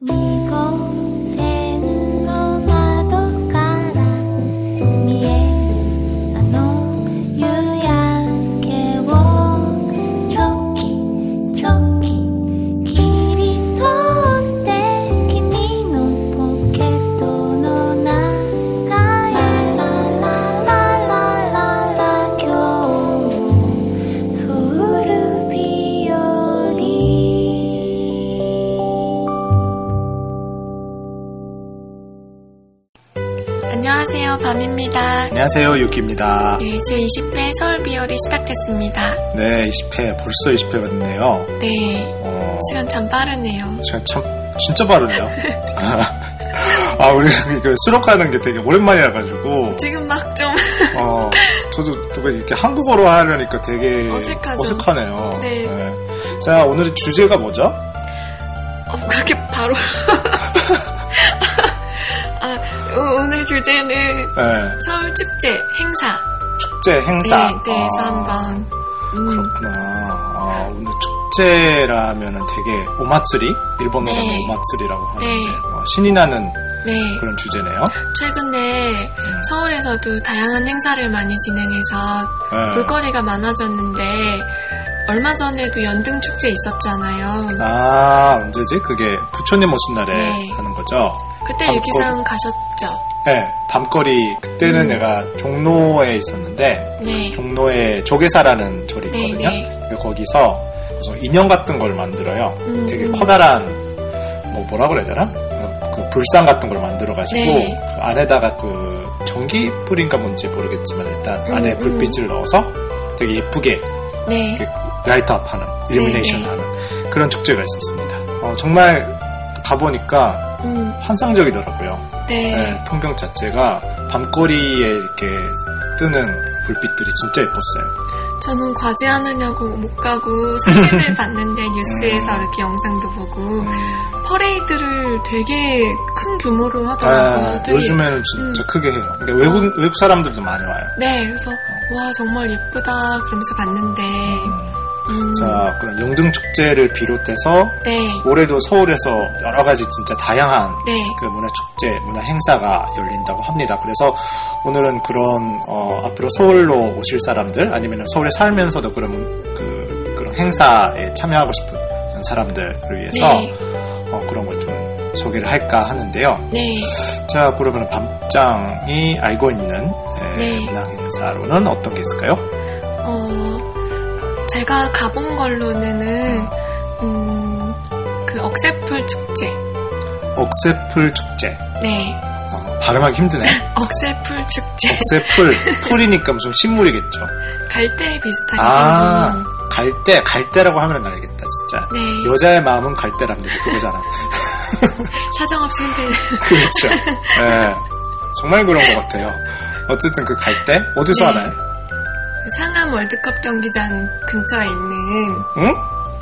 안녕하세요, 밤입니다. 안녕하세요, 유키입니다. 네, 제20회 서울비열이 시작됐습니다. 네, 20회, 벌써 20회가 됐네요. 네, 시간 참 빠르네요. 시간 참, 진짜 빠르네요. 우리 수록 가는 게 되게 오랜만이라가지고. 지금 막 좀. 저도 이렇게 한국어로 하려니까 되게 어색하네요. 네. 네. 자, 오늘의 주제가 뭐죠? 그렇게 바로. 오늘 주제는 네. 서울 축제 행사. 축제 행사. 네, 그래서 한번. 그렇구나. 오늘 축제라면은 되게 오마츠리? 일본어로 네. 오마츠리라고 하는데 네. 신이 나는 네. 그런 주제네요. 최근에 서울에서도 다양한 행사를 많이 진행해서 볼거리가 많아졌는데 얼마 전에도 연등축제 있었잖아요. 언제지? 그게 부처님 오신 날에 네. 하는 거죠? 그때 유기상 가셨죠? 네, 밤거리. 그때는 내가 종로에 있었는데 네. 종로에 조계사라는 절이 있거든요. 네. 거기서 인형 같은 걸 만들어요. 되게 커다란 뭐라 그래야 되나? 그 불상 같은 걸 만들어가지고 네. 그 안에다가 그 전기불인가 뭔지 모르겠지만 일단 안에 불빛을 넣어서 되게 예쁘게 네. 라이트업하는, 일루미네이션 하는 그런 축제가 있었습니다. 정말 가보니까 환상적이더라고요. 네. 네, 풍경 자체가 밤거리에 이렇게 뜨는 불빛들이 진짜 예뻤어요. 저는 과제하느냐고 못 가고 사진을 봤는데 뉴스에서 이렇게 영상도 보고 퍼레이드를 되게 큰 규모로 하더라고요. 되게, 요즘에는 진짜 크게 해요. 그러니까 외국 사람들도 많이 와요. 네, 그래서 와 정말 예쁘다 그러면서 봤는데 자, 그럼 영등축제를 비롯해서 네. 올해도 서울에서 여러 가지 진짜 다양한 네. 그 문화축제, 문화 행사가 열린다고 합니다. 그래서 오늘은 그런 앞으로 서울로 오실 사람들 아니면 서울에 살면서도 그런 행사에 참여하고 싶은 사람들을 위해서 네. 그런 걸 좀 소개를 할까 하는데요. 네. 자, 그러면 밤장이 알고 있는 네. 문화 행사로는 어떤 게 있을까요? 제가 가본 걸로는 그 억새풀 축제. 억새풀 축제. 네. 발음하기 힘드네. 억새풀 축제. 억새풀. 풀이니까 무슨 식물이겠죠. 갈대 비슷하게 생긴. 갈대라고 하면 알겠다, 진짜. 네. 여자의 마음은 갈대랍니다. 그거잖아. 사정없이 흔들려. 그렇죠. 네. 정말 그런 것 같아요. 어쨌든 그 갈대? 어디서 네. 하나요? 상암 월드컵 경기장 근처에 있는. 응?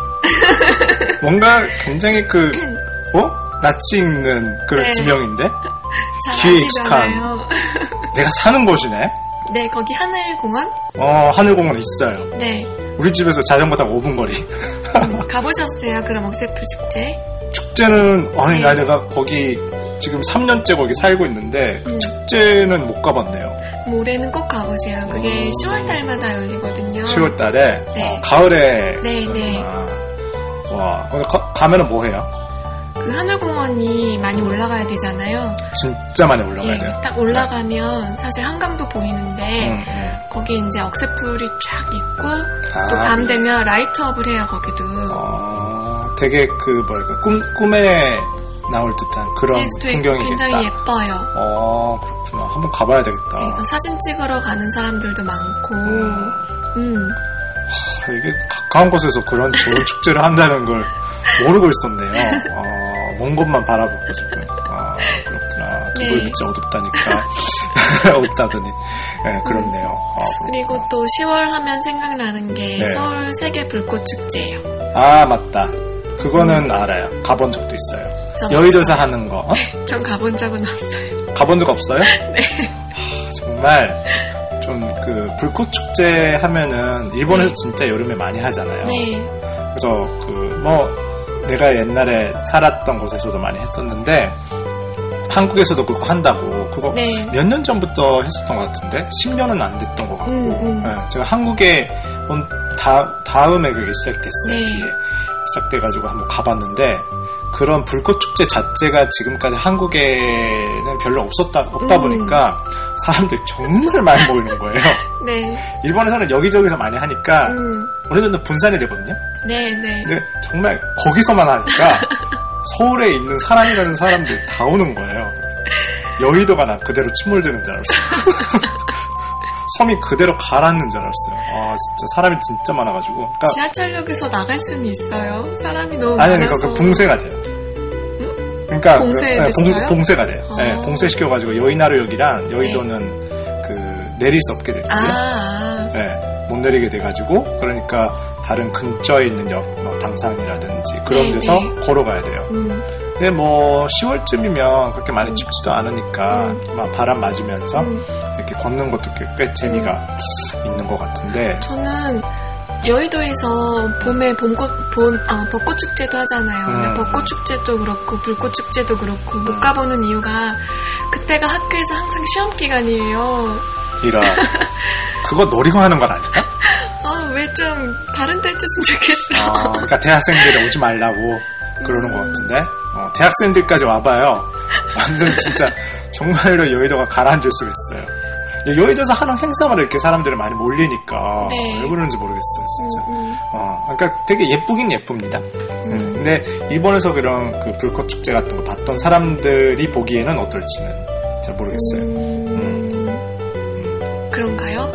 뭔가 굉장히 낯이 익는 그런 네. 지명인데? 잘 귀에 익숙한. 아시잖아요. 내가 사는 곳이네? 네, 거기 하늘공원? 하늘공원 있어요. 네. 우리 집에서 자전거 타고 5분 거리. 가보셨어요? 그럼 억새풀 축제? 축제는, 네. 내가 거기 지금 3년째 거기 살고 있는데, 그 축제는 못 가봤네요. 올해는 꼭 가보세요. 그게 10월달마다 열리거든요. 10월달에? 네. 가을에? 네. 와, 가면은 뭐 해요? 그 하늘공원이 많이 올라가야 되잖아요. 진짜 많이 올라가야 돼요. 딱 올라가면 사실 한강도 보이는데 거기 이제 억새풀이 쫙 있고 또 밤 되면 라이트업을 해요. 거기도. 되게 꿈에 나올 듯한 그런 풍경이겠다. 굉장히 예뻐요. 그렇구나. 한번 가봐야 되겠다. 네, 그래서 사진 찍으러 가는 사람들도 많고. 이게 가까운 곳에서 그런 좋은 축제를 한다는 걸 모르고 있었네요. 먼 곳만 바라보고 지금. 그렇구나. 두부이 진짜 어둡다니까. 어둡다더니. 네, 그렇네요. 그리고 또 10월 하면 생각나는 게 네. 서울 세계 불꽃 축제예요. 맞다. 그거는 알아요. 가본 적도 있어요. 여의도에서 하는 거. 전 가본 적은 없어요. 가본 적 없어요? 네. 정말 좀 불꽃 축제 하면은 일본에서 진짜 여름에 많이 하잖아요. 네. 그래서 내가 옛날에 살았던 곳에서도 많이 했었는데 한국에서도 그거 한다고 그거 네. 몇 년 전부터 했었던 것 같은데 10년은 안 됐던 것 같고 네, 제가 한국에 온 다음에 그게 시작됐어요. 네. 뒤에 시작돼가지고 한번 가봤는데 그런 불꽃축제 자체가 지금까지 한국에는 별로 없다 보니까 사람들이 정말 많이 모이는 거예요. 네. 일본에서는 여기저기서 많이 하니까 어느 정도 분산이 되거든요. 네, 네. 근데 정말 거기서만 하니까 서울에 있는 사람이라는 사람들이 다 오는 거예요. 여의도가 나 그대로 침몰되는 줄 알았어요. 섬이 그대로 가라앉는 줄 알았어요. 아, 진짜 사람이 진짜 많아가지고. 그러니까 지하철역에서 나갈 수는 있어요. 사람이 너무 아니, 많아서. 그러니까 봉쇄가 돼요. 응? 그러니까 봉쇄됐어요? 봉쇄가 돼요. 아. 네, 봉쇄시켜가지고 여의나루역이랑 여의도는 그 내릴 수 없게 됐거든요. 네, 못 내리게 돼가지고 그러니까 다른 근처에 있는 역, 뭐 당산이라든지 그런 네, 데서 네. 걸어가야 돼요. 근데 뭐 10월쯤이면 그렇게 많이 춥지도 않으니까 막 바람 맞으면서 이렇게 걷는 것도 꽤 재미가 있는 것 같은데 저는 여의도에서 봄에 벚꽃 축제도 하잖아요. 근데 벚꽃 축제도 그렇고 불꽃 축제도 그렇고 못 가보는 이유가 그때가 학교에서 항상 시험 기간이에요. 이런 그거 노리고 하는 건 아닐까? 왜 좀 다른 데 해줬으면 좋겠어. 그러니까 대학생들이 오지 말라고 그러는 것 같은데 대학생들까지 와봐요. 완전 진짜 정말로 여의도가 가라앉을 수가 있어요. 여의도에서 하는 행사마다 이렇게 사람들이 많이 몰리니까 네. 왜 그러는지 모르겠어요, 진짜. 그러니까 되게 예쁘긴 예쁩니다. 근데 일본에서 그런 그 불꽃 축제 같은 거 봤던 사람들이 보기에는 어떨지는 잘 모르겠어요. 그런가요?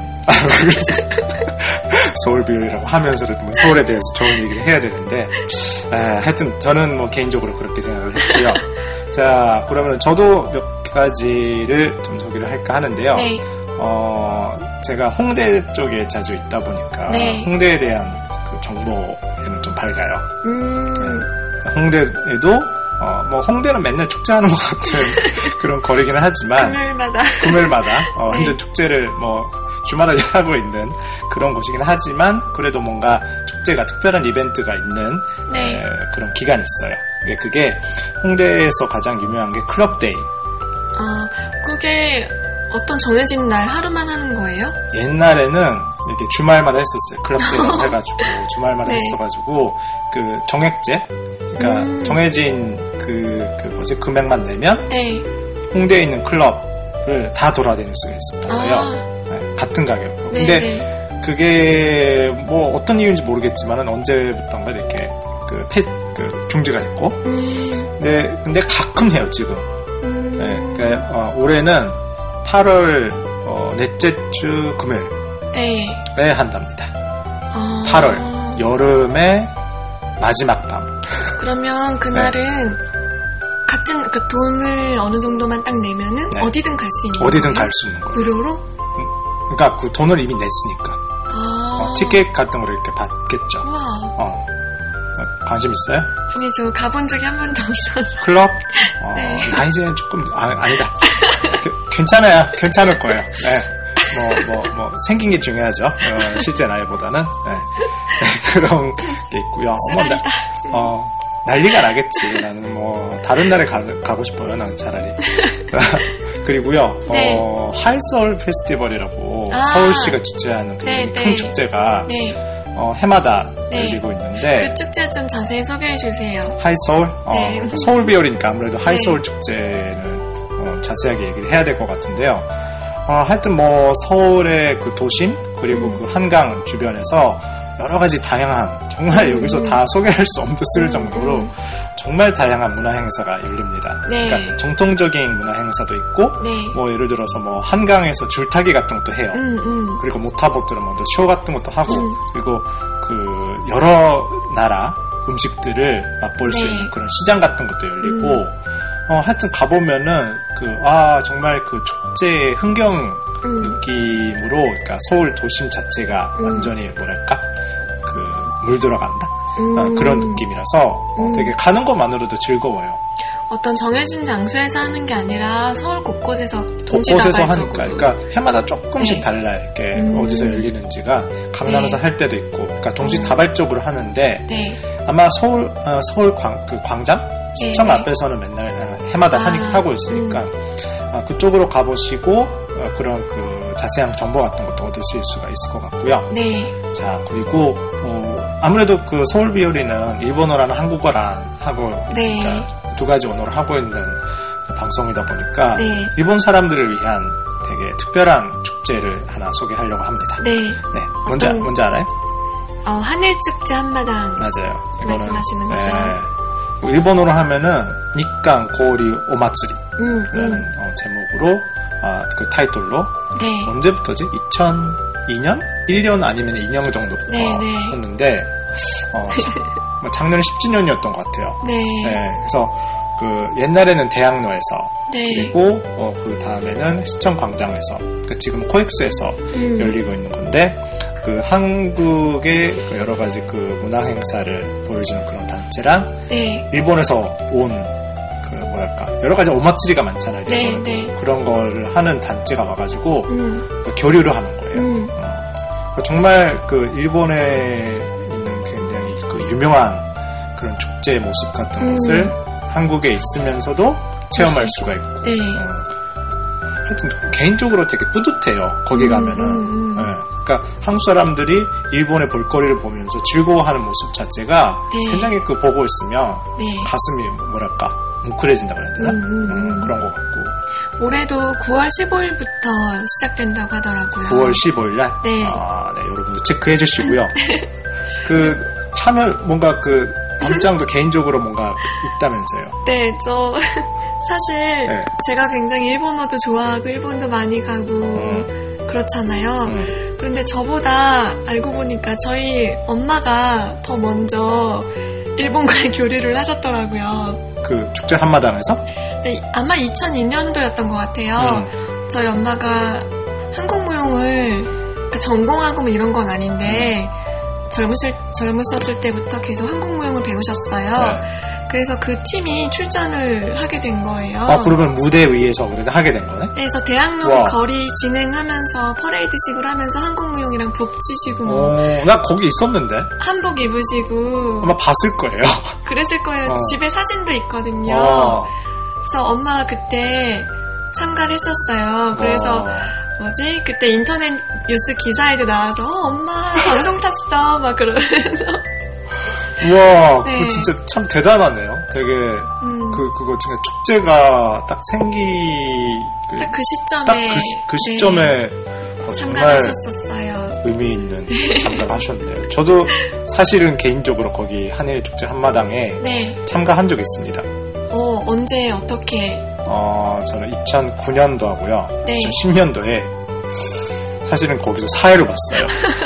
서울 비율이라고 하면서도 뭐 서울에 대해서 좋은 얘기를 해야 되는데 하여튼 저는 뭐 개인적으로 그렇게 생각을 했고요. 자, 그러면 저도 몇 가지를 좀 소개를 할까 하는데요. 네. 제가 홍대 쪽에 자주 있다 보니까 네. 홍대에 대한 그 정보에는 좀 밝아요. 네. 홍대에도 뭐 홍대는 맨날 축제하는 것 같은 그런 거리기는 하지만 금요일마다 완전 축제를 뭐 주말에 하고 있는 그런 곳이긴 하지만 그래도 뭔가 축제가 특별한 이벤트가 있는 네. 그런 기간이 있어요. 그게 홍대에서 가장 유명한 게 클럽데이. 그게 어떤 정해진 날 하루만 하는 거예요? 옛날에는 이렇게 주말마다 했었어요. 클럽데이라고 해가지고 주말마다 네. 했어가지고 그 정액제, 그러니까 정해진 금액만 내면 네. 홍대에 있는 클럽을 다 돌아다닐 수가 있었던 거예요. 네, 같은 가격으로. 네, 근데 네. 그게 뭐 어떤 이유인지 모르겠지만은 언제부턴가 이렇게 중지가 됐고. 근데 가끔 해요 지금. 네, 그러니까 올해는 8월 넷째 주 금요일에 한답니다. 8월 여름의 마지막 밤. 그러면 그날은 같은 돈을 어느 정도만 딱 내면은 네. 어디든 갈 수 있는 어디든 거예요? 갈 수 있는 거예요. 무료로? 그러니까 그 돈을 이미 냈으니까. 티켓 같은 걸 이렇게 받겠죠. 우와. 관심 있어요? 아니, 저 가본 적이 한 번도 없어서. 클럽? 네. 나이제는 조금, 아니다. 괜찮아요. 괜찮을 거예요. 네. 생긴 게 중요하죠. 실제 나이보다는. 네. 그런 게 있고요. 난리가 나겠지. 나는 다른 날에 가고 싶어요. 나는 차라리. 그리고요, 네. 하이서울 페스티벌이라고 서울시가 주최하는 큰 축제가 해마다 열리고 있는데 그 축제 좀 자세히 소개해 주세요. 하이서울? 네. 서울 비율이니까 아무래도 하이서울 축제는 자세하게 얘기를 해야 될 것 같은데요. 하여튼 서울의 그 도심 그리고 그 한강 주변에서 여러 가지 다양한 정말 여기서 다 소개할 수 없을 정도로 정말 다양한 문화 행사가 열립니다. 네. 그러니까 정통적인 문화 행사도 있고 네. 예를 들어서 한강에서 줄타기 같은 것도 해요. 그리고 모타보트로 쇼 같은 것도 하고 그리고 그 여러 나라 음식들을 맛볼 수 네. 있는 그런 시장 같은 것도 열리고 하여튼 가보면은 정말 그 축제의 흥경 느낌으로 그러니까 서울 도심 자체가 완전히 뭐랄까 물들어간다 그런 느낌이라서 되게 가는 것만으로도 즐거워요. 어떤 정해진 장소에서 하는 게 아니라 서울 곳곳에서 곳곳에서 하니까, 그러니까 해마다 조금씩 네. 달라 이렇게 어디서 열리는지가 강남에서 네. 할 때도 있고, 그러니까 동시다발적으로 하는데 네. 아마 서울 그 광장 시청 네. 앞에서는 맨날 해마다 하고 있으니까 그쪽으로 가보시고 그런 그 자세한 정보 같은 것도 얻으실 수가 있을 것 같고요. 네. 자, 그리고 아무래도 그 서울 비오리는 일본어랑 한국어랑 하고 네. 그러니까 두 가지 언어를 하고 있는 방송이다 보니까 네. 일본 사람들을 위한 되게 특별한 축제를 하나 소개하려고 합니다. 네. 네, 뭔지 알아요? 하늘축제 한마당. 맞아요. 말씀하시는 거죠? 네. 일본어로 하면은 니칸 고리 오마츠리라는 제목으로 그 타이틀로 네. 언제부터지? 2002년? 1년 아니면 2년 정도부터 네. 했었는데 작년에 10주년이었던 것 같아요. 네. 네, 그래서 그 옛날에는 대학로에서 네. 그리고 그 다음에는 시청 광장에서 지금 코엑스에서 열리고 있는 건데 그 한국의 그 여러 가지 그 문화 행사를 보여주는 그런 단체랑 네. 일본에서 온 그 뭐랄까 여러 가지 오마츠리가 많잖아요. 네, 네. 그런 거를 하는 단체가 와가지고 그 교류를 하는 거예요. 정말 그 일본에 있는 굉장히 그 유명한 그런 축제 모습 같은 것을 한국에 있으면서도 체험할 수가 있고. 네. 하여튼 개인적으로 되게 뿌듯해요. 거기 가면은. 네. 그러니까 한국 사람들이 일본의 볼거리를 보면서 즐거워하는 모습 자체가 네. 굉장히 그 보고 있으면 네. 가슴이 뭐랄까 뭉클해진다 그래야 되나? 그런 것 같고. 올해도 9월 15일부터 시작된다고 하더라고요. 9월 15일 날? 네. 네, 여러분도 체크해 주시고요. 그 참여 뭔가 그 입장도 개인적으로 뭔가 있다면서요. 네, 저 사실 네. 제가 굉장히 일본어도 좋아하고 일본도 많이 가고 그렇잖아요. 그런데 저보다 알고 보니까 저희 엄마가 더 먼저 일본과의 교류를 하셨더라고요. 그 축제 한마당에서? 네, 아마 2002년도였던 것 같아요. 저희 엄마가 한국무용을 그러니까 전공하고 뭐 이런 건 아닌데 젊으셨을 때부터 계속 한국무용을 배우셨어요. 네. 그래서 그 팀이 출전을 하게 된 거예요. 그러면 무대 위에서 그래도 하게 된 거네? 그래서 대학로 거리 진행하면서 퍼레이드식으로 하면서 한국무용이랑 북치시고 뭐 나 거기 있었는데? 한복 입으시고 아마 봤을 거예요. 그랬을 거예요. 집에 사진도 있거든요. 그래서 엄마가 그때 참가를 했었어요. 그래서 그때 인터넷 뉴스 기사에도 나와서 엄마 방송 tas어 막 그러면서 우와, 네. 그거 진짜 참 대단하네요. 되게 그거 진짜 축제가 딱 딱 그 시점에 그 시점에 참가하셨었어요. 의미 있는 참가를 하셨네요. 저도 사실은 개인적으로 거기 한일 축제 한마당에 네. 참가한 적이 있습니다. 언제 어떻게? 저는 2009년도 하고요. 네. 2010년도에 사실은 거기서 사회를 봤어요.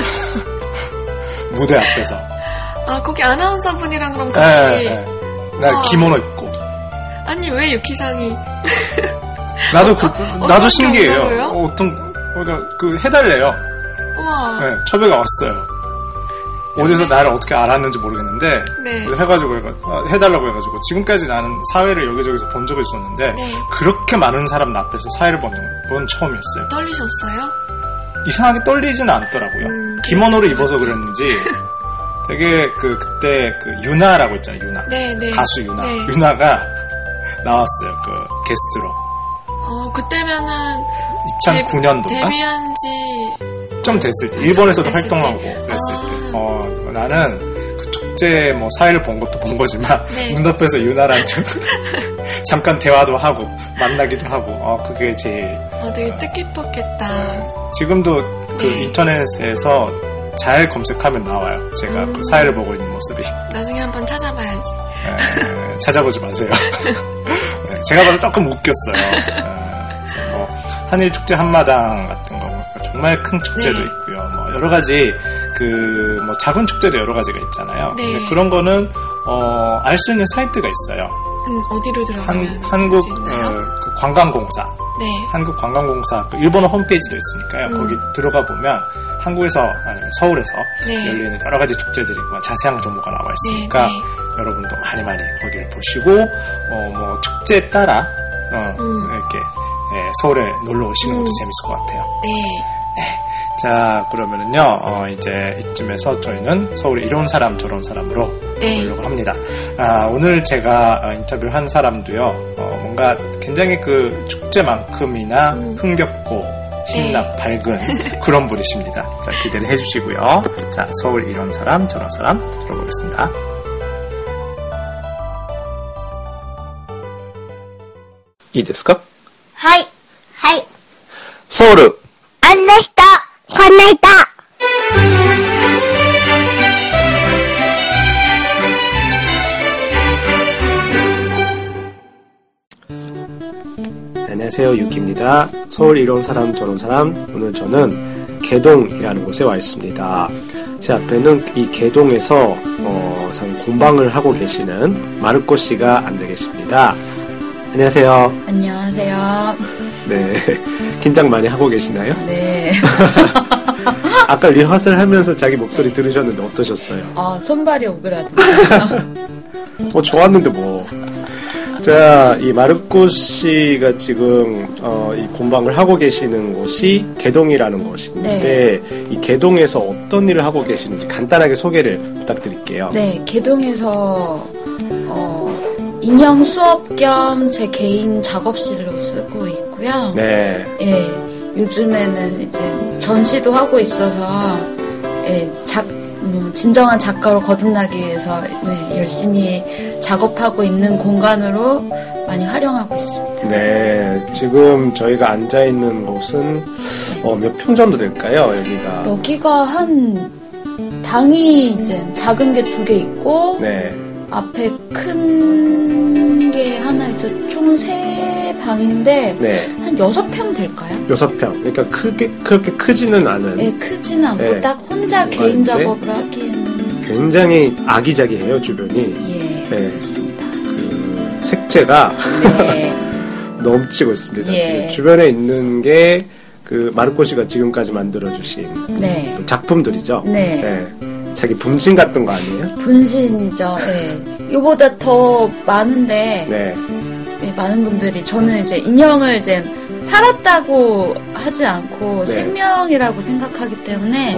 무대 앞에서. 거기 아나운서분이랑 그럼 같이. 네. 나 기모노 입고. 아니 왜 유키상이? 나도 신기해요. 그 해달래요. 우와. 네, 첩외가 왔어요. 어디서 나를 어떻게 알았는지 모르겠는데 네. 해가지고 해달라고 해가지고 지금까지 나는 사회를 여기저기서 본 적이 있었는데 네. 그렇게 많은 사람 앞에서 사회를 본 건 처음이었어요. 떨리셨어요? 이상하게 떨리지는 않더라고요. 기모노를 입어서 그랬는지 되게 그때 유나라고 있잖아요. 유나. 네, 네. 가수 유나. 네. 유나가 나왔어요. 그 게스트로. 그때면은 2009년도인가? 데뷔한 지 좀 됐을 때 일본에서도 됐을 활동하고 때. 그랬을 때 나는 그 축제 뭐 사회를 본 것도 본 거지만 네. 문 앞에서 유나랑 좀 잠깐 대화도 하고 만나기도 하고 그게 제일 되게 뜻깊었겠다. 지금도 그 네. 인터넷에서 잘 검색하면 나와요. 제가 그 사회를 보고 있는 모습이. 나중에 한번 찾아봐야지. 찾아보지 마세요. 네, 제가 봐도 조금 웃겼어요. 한일 축제 한마당 같은 거 정말 큰 축제도 네. 있고요. 뭐 여러 가지 뭐 작은 축제도 여러 가지가 있잖아요. 네. 근데 그런 거는 알 수 있는 사이트가 있어요. 어디로 들어가면 한국 있나요? 그 관광공사. 네. 한국관광공사 그 일본어 홈페이지도 있으니까요. 거기 들어가 보면 한국에서 아니면 서울에서 네. 열리는 여러 가지 축제들이 자세한 정보가 나와 있으니까 네, 네. 여러분도 많이 거기를 보시고 뭐 축제에 따라 이렇게 서울에 놀러 오시는 것도 재밌을 것 같아요. 네. 자, 그러면은요, 이제 이쯤에서 저희는 서울에 이런 사람 저런 사람으로 보려고 합니다. 오늘 제가 인터뷰를 한 사람도요, 뭔가 굉장히 그 축제만큼이나 흥겹고 신나 밝은 그런 분이십니다. 자, 기대를 해주시고요. 자, 서울 이런 사람 저런 사람 들어보겠습니다. いいですか? はい。はい。 서울 あんな人、こんな人。 안녕하세요, 유키입니다. 서울 이런 사람 저런 사람. 오늘 저는 개동이라는 곳에 와 있습니다. 제 앞에는 이 개동에서 참 공방을 하고 계시는 마르코 씨가 앉아 계십니다. 안녕하세요. 안녕하세요. 네, 긴장 많이 하고 계시나요? 네. 아까 리허설 하면서 자기 목소리 들으셨는데 어떠셨어요? 손발이 오그라들어요. 좋았는데 뭐. 자, 이 마르코 씨가 지금 이 공방을 하고 계시는 곳이 개동이라는 곳인데 이 개동에서 어떤 일을 하고 계시는지 간단하게 소개를 부탁드릴게요. 네, 개동에서 인형 수업 겸 제 개인 작업실로 쓰고 있고요. 네. 예, 요즘에는 이제 전시도 하고 있어서 진정한 작가로 거듭나기 위해서 열심히 작업하고 있는 공간으로 많이 활용하고 있습니다. 네, 지금 저희가 앉아 있는 곳은 몇 평 정도 될까요? 여기가 한 방이 이제 작은 게 2개 있고 네. 앞에 큰 게 하나 있어 총 3방인데 네. 한 6평 될까요? 6평. 그러니까 그렇게 크지는 않은. 네, 크지는 않고 네. 딱 혼자 개인 작업을 하기에는 굉장히 아기자기해요, 주변이. 예, 네. 그렇습니다. 그 색채가 네. 넘치고 있습니다. 예. 지금 주변에 있는 게 그 마르코 씨가 지금까지 만들어주신 네. 작품들이죠. 네. 네. 자기 분신 같은 거 아니에요? 분신이죠. 네. 이거보다 더 많은데 네. 네, 많은 분들이 저는 이제 인형을 이제 팔았다고 하지 않고 네. 생명이라고 생각하기 때문에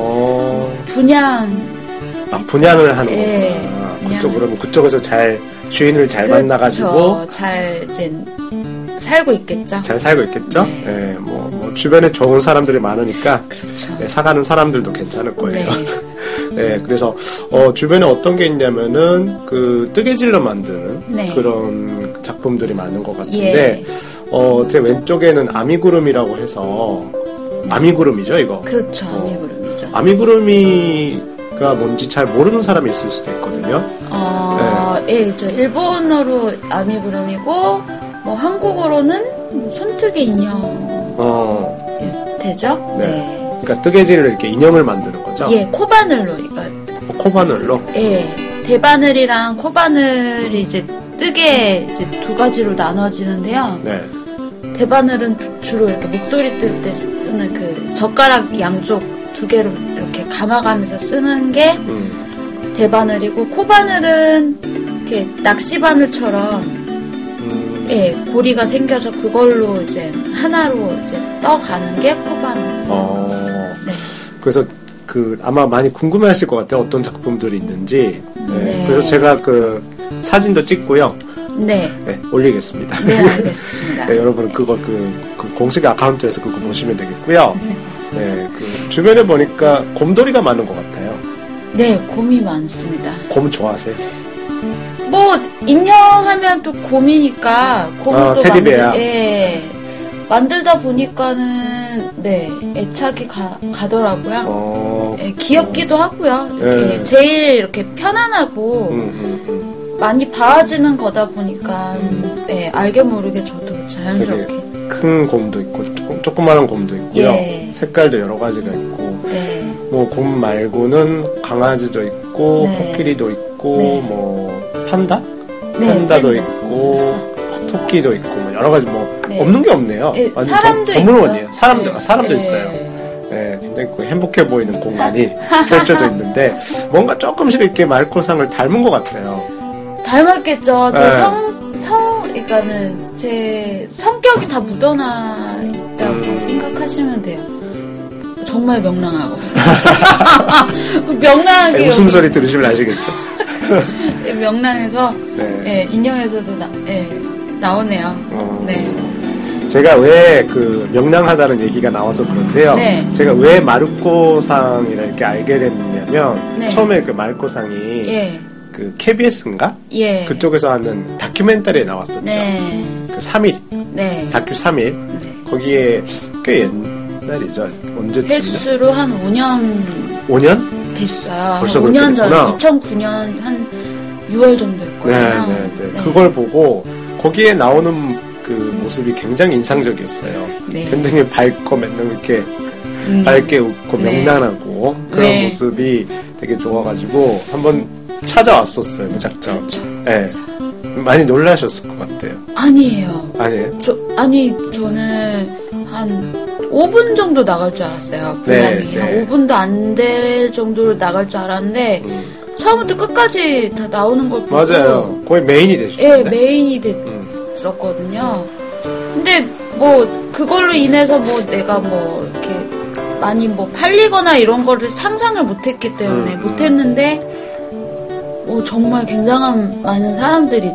분양을 분양을 하는 네, 거구나. 그쪽에서 잘 주인을 잘 그렇죠. 만나가지고 잘 이제 살고 있겠죠. 잘 살고 있겠죠. 네. 네, 뭐 주변에 좋은 사람들이 많으니까 그렇죠. 네, 사가는 사람들도 괜찮을 거예요. 네. 네, 그래서 주변에 어떤 게 있냐면은 그 뜨개질로 만드는 네. 그런 작품들이 많은 것 같은데 예. 제 왼쪽에는 아미구름이라고 해서 아미구름이죠, 이거. 그렇죠. 아미구름이죠. 아미구름이가 뭔지 잘 모르는 사람이 있을 수도 있거든요. 예, 저 일본어로 아미구름이고 뭐 한국어로는 뭐 손뜨개 인형 되죠? 네. 그러니까 뜨개질을 이렇게 인형을 만드는 거죠? 예, 코바늘로, 그러니까. 코바늘로? 예, 대바늘이랑 코바늘이 이제 뜨개 이제 2가지로 나눠지는데요. 네. 대바늘은 주로 이렇게 목도리 뜰 때 쓰는 그 젓가락 양쪽 2개로 이렇게 감아가면서 쓰는 게 대바늘이고, 코바늘은 이렇게 낚시바늘처럼 예, 고리가 생겨서 그걸로 이제 하나로 이제 떠가는 게 코바늘. 네. 그래서 아마 많이 궁금해하실 것 같아요. 어떤 작품들이 있는지. 네. 네. 그래서 제가 그 사진도 찍고요. 네. 네, 올리겠습니다. 네, 알겠습니다. 네, 여러분 그거 그 공식 아카운트에서 그거 보시면 되겠고요. 네, 그 주변에 보니까 곰돌이가 많은 것 같아요. 네, 곰이 많습니다. 곰 좋아하세요? 뭐 인형 하면 또 곰이니까 곰을 또 테디베어. 만들다 보니까는 네, 애착이 가더라고요. 귀엽기도 하고요. 이렇게 제일 이렇게 편안하고 많이 봐지는 거다 보니까 알게 모르게 저도 자연스럽게 큰 곰도 있고 조그마한 곰도 있고요. 색깔도 여러 가지가 있고 뭐 곰 말고는 강아지도 있고 코끼리도 있고 뭐 판다? 판다도 있고 토끼도 있고 뭐 여러 가지 뭐 없는 게 없네요. 완전 사람도 동물원이에요. 사람도 있어요. 네, 굉장히 행복해 보이는 공간이 펼쳐져 있는데 뭔가 조금씩 이렇게 말코상을 닮은 것 같아요. 닮았겠죠. 제 네. 그러니까는 제 성격이 다 묻어나 있다고 생각하시면 돼요. 정말 명랑하고. 명랑하게. 웃음소리 들으시면 아시겠죠? 명랑해서, 네. 예, 인형에서도 나오네요. 네. 제가 왜 그 명랑하다는 얘기가 나와서 그런데요. 네. 제가 왜 마르코상이라 이렇게 알게 됐냐면, 네. 처음에 그 마르코상이 예. 그 KBS인가? 예. 그쪽에서 하는 다큐멘터리에 나왔었죠. 네. 그 3일. 네. 다큐 3일. 네. 거기에 꽤 옛날이죠. 언제쯤이죠? 횟수로 한 5년 5년? 됐어요. 벌써 5년 전, 그렇게 2009년 한 6월 정도였거든요. 네. 그걸 보고 거기에 나오는 그 모습이 굉장히 인상적이었어요. 네. 굉장히 밝고 맨날 이렇게 밝게 웃고 네. 명랑하고 그런 네. 모습이 되게 좋아가지고 한번 찾아왔었어요. 무작정. 그렇죠. 네. 많이 놀라셨을 것 같아요. 아니에요. 아니에요? 저는 한 5분 정도 나갈 줄 알았어요. 분량이. 네. 한 5분도 안 될 정도로 나갈 줄 알았는데, 처음부터 끝까지 다 나오는 걸 보고. 맞아요. 거의 메인이 되셨죠. 예, 메인이 됐었거든요. 근데 뭐, 그걸로 인해서 뭐 내가 뭐, 이렇게 많이 뭐 팔리거나 이런 거를 상상을 못했기 때문에 못했는데, 정말 굉장한 많은 사람들이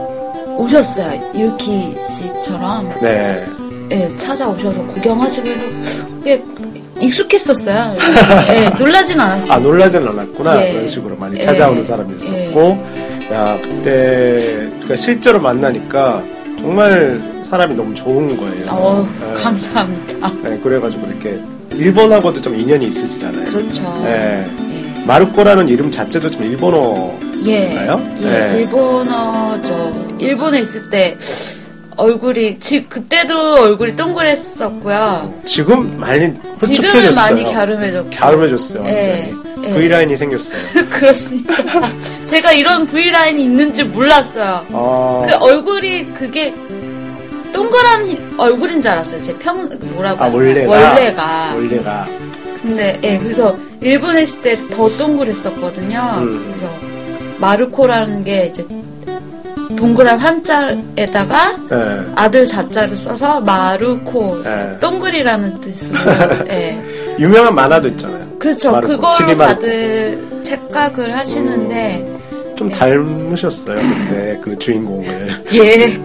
오셨어요. 유키 씨처럼. 네. 예, 찾아오셔서 구경하시고 해서 꽤 익숙했었어요. 예, 놀라진 않았어요. 아, 놀라진 않았구나. 예. 그런 식으로 많이 찾아오는 사람이 있었고. 야, 그때, 그러니까 실제로 만나니까 정말 사람이 너무 좋은 거예요. 네. 감사합니다. 네, 그래가지고 이렇게 일본하고도 좀 인연이 있으시잖아요. 그렇죠. 네. 예. 마르코라는 이름 자체도 좀 일본어인가요? 예, 네. 일본어죠. 일본에 있을 때 얼굴이 그때도 얼굴이 동그랬었고요. 지금 많이 흡족해졌어요. 지금은 많이 갸름해졌고. 갸름해졌어요. 완전히. 예. V라인이 생겼어요. 그렇습니다. 제가 이런 V라인이 있는지 몰랐어요. 그 얼굴이 그게 동그란 얼굴인 줄 알았어요. 제 뭐라고. 원래가. 근데, 예, 그래서 일본에 있을 때 더 동그랬었거든요. 그래서 마르코라는 게 이제 동그란 한자에다가 아들 자자를 써서 마르코, 동글이라는 뜻으로, 예. 유명한 만화도 있잖아요. 그렇죠. 마르코, 그걸로 다들 착각을 하시는데. 좀 닮으셨어요, 근데 그 주인공을. 예.